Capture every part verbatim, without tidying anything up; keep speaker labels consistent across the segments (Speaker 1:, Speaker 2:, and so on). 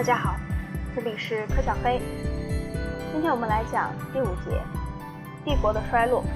Speaker 1: 家好，这里是柯小黑。今天我们来讲第五节，帝国的衰落。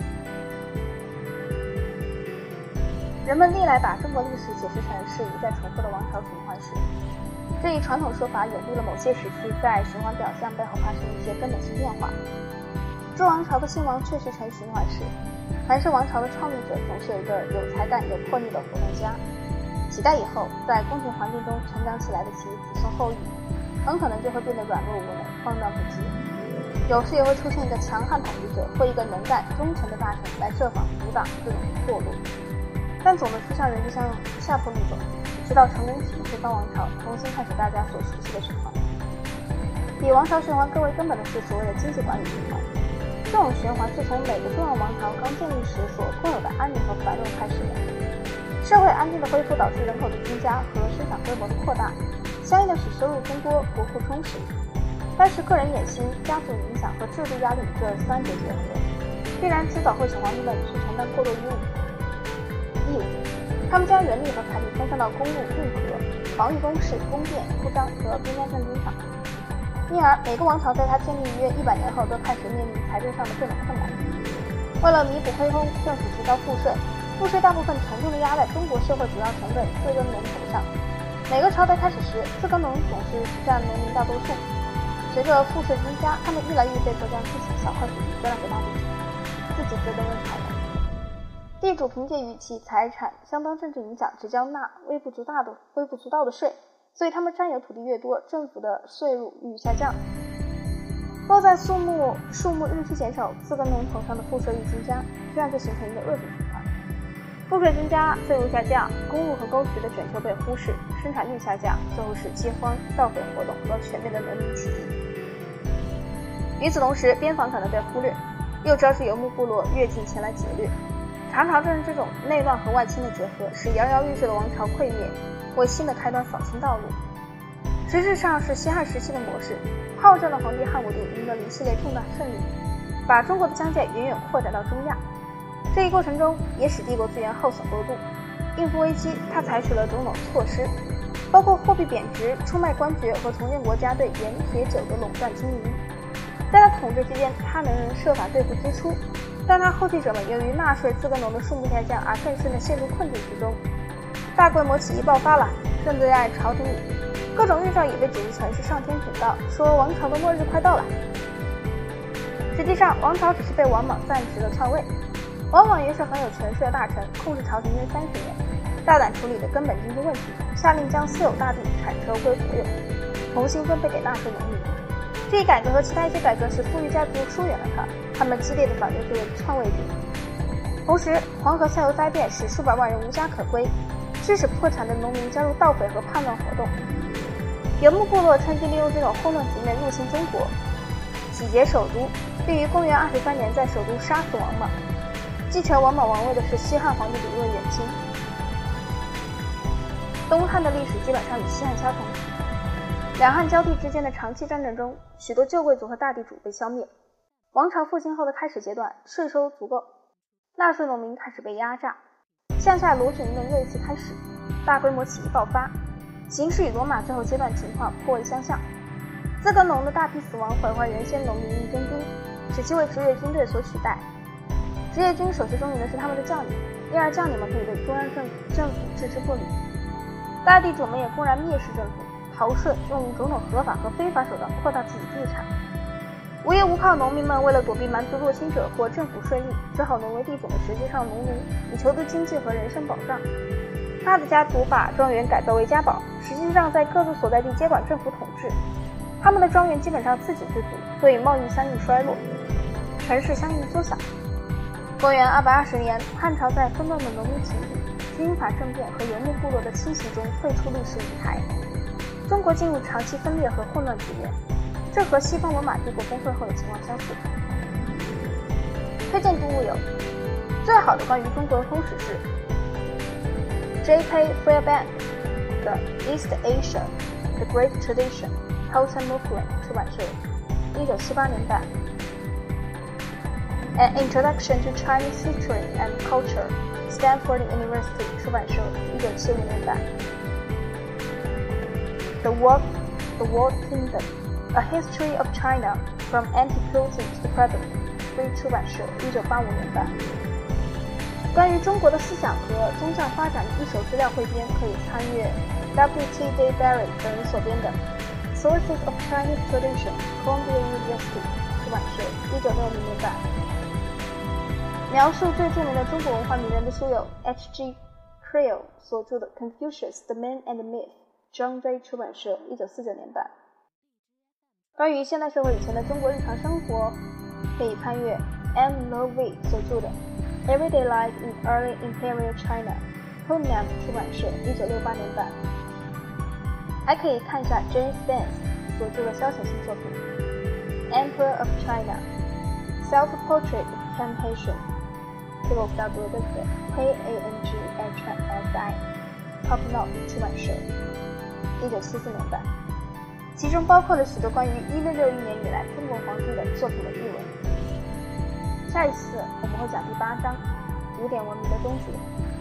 Speaker 1: 人们历来把中国历史解释成是一再重复的王朝循环史，这一传统说法掩蔽了某些时期在循环表象背后发生一些根本性变化。诸王朝的兴亡确实呈循环史，凡是王朝的创立者总是有一个有才干有魄力的活动家，几代以后在宫廷环境中成长起来的其子孙后裔很可能就会变得软弱无能，慌乱不羁。有时也会出现一个强悍统治者或一个能干忠诚的大臣来设法阻挡这种堕落，但总的趋向仍是向下坡路走，直到成功体推翻王朝，重新开始大家所熟悉的循环。比王朝循环更为根本的是所谓的经济管理循环。这种循环是从每个重要王朝刚建立时所共有的安宁和繁荣开始的。社会安定的恢复导致人口的增加和生产规模的扩大，相应的使收入增多，国库充实。但是个人野心、家族影响和制度压力这三者结合，必然迟早会使皇帝们去承担过多义务。义务，他们将人力和财力分散到公路、运河、防御工事、宫殿、铺张和边疆战争上。因而，每个王朝在它建立约一百年后都开始面临财政上的各种困难。为了弥补亏空，政府提高赋税，赋税大部分沉重地压在中国社会主要成本自耕农头上。每个朝代开始时，自耕农总是占农民大多数。随着赋税增加，他们越来越被迫将自己小块土地割让给大地主，自己则登任朝廷。地主凭借于其财产相当政治影响，只交纳微不足道的微不足道的税。所以他们占有土地越多，政府的税入愈下降。落在树木数目日趋减少，自耕农头上的赋税愈增加，这样就形成一个恶性循环。赋税增加，税入下降，公路和沟渠的整修被忽视，生产率下降，最后是饥荒、盗匪活动和全面的农民起义。与此同时，边防可能被忽略，又招致游牧部落越境前来劫掠。常常正是这种内乱和外侵的结合，使摇摇欲坠的王朝溃灭，为新的开端扫清道路。实质上是西汉时期的模式，好战的皇帝汉武帝赢得了一系列重大胜利，把中国的疆界远远扩展到中亚。这一过程中也使帝国资源耗损过度。应付危机，他采取了种种措施，包括货币贬值、出卖官爵和重建国家对盐、铁、酒的垄断经营。在他统治期间，他能设法对付支出，但他后继者们由于纳税自耕农的数目下降而更深地陷入困境之中。大规模起义爆发了，甚至在朝廷里，各种预兆也被解释成是上天警告，说王朝的末日快到了。实际上，王朝只是被王莽暂时的篡位。王莽原是很有权势的大臣，控制朝廷约三十年，大胆处理的根本经济问题，下令将私有大地产车归国有，重新分配给纳税农民。这一改革和其他一些改革使富裕家族疏远了他，他们激烈的反对这位篡位者。同时，黄河下游灾变使数百万人无家可归，致使破产的农民加入盗匪和叛乱活动。游牧部落趁机利用这种混乱局面入侵中国，洗劫首都，并于公元二十三年在首都杀死王莽。继承王莽王位的是西汉皇帝李卫元钦。东汉的历史基本上与西汉相同，两汉交替之间的长期战争中，许多旧贵族和大地主被消灭。王朝复兴后的开始阶段，税收足够，纳税农民开始被压榨，向下罗卷运动又一次开始，大规模起义爆发，形势与罗马最后阶段情况颇为相像。自耕农的大批死亡毁坏原先农民役征兵，使其为职业军队所取代。职业军首先中营的是他们的将领，因而将领们可以对中央政府政府置之不理。大地主们也公然蔑视政府，逃税，用种种合法和非法手段扩大自己地产。无业无靠农民们为了躲避蛮族入侵者或政府税吏，只好沦为地主们实际上农奴，以求得经济和人身保障。他的家族把庄园改造为家堡，实际上在各自所在地接管政府统治。他们的庄园基本上自给自足，所以贸易相应衰落，城市相应缩小。公元二百二十年，汉朝在纷乱的农民起义、军阀政变和游牧部落的侵袭中退出历史舞台，中国进入长期分裂和混乱局面，这和西方罗马帝国崩溃后的情况相似。推荐读物有：最好的关于中国的通史是 J K Fairbank 的 East Asia: The Great Tradition, Houten Mifflin 出版社，一九七八年版。An Introduction to Chinese History and Culture, Stanford University 出版社，一九七五年版。The Work The World Kingdom: A History of China from Antiquity to the Present， 非出版社，一九八五年版。关于中国的思想和宗教发展的一手资料汇编，可以参阅 W T J Barry 等人所编的《Sources of Chinese Tradition》， Columbia University 出版社，一九六零年版。描述最著名的中国文化名人的书有 H G Creel 所著的《Confucius: The Man and the Myth》， 张追出版社，一九四九年版。关于现代社会以前的中国日常生活，可以参阅 M. Lowe 所著的Everyday Life in Early Imperial China， Hunan 出版社，一九六八年版。还可以看一下 James Vance 所著的消遣性作品 Emperor of China， Self-Portrait of Ken Haitian， 这个我不知道读的对不对 K A N G H S I Top Knot 出版社，一九七四年版。其中包括了许多关于一六六一年以来中国皇帝的作品的译文。下一次我们会讲第八章，古典文明的终结。